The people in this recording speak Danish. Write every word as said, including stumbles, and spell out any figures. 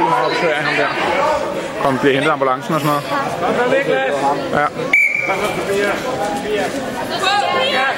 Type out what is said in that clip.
vildt meget opsøg af ham der. Kom, bliver hentet ambulancen og sådan noget. Ja.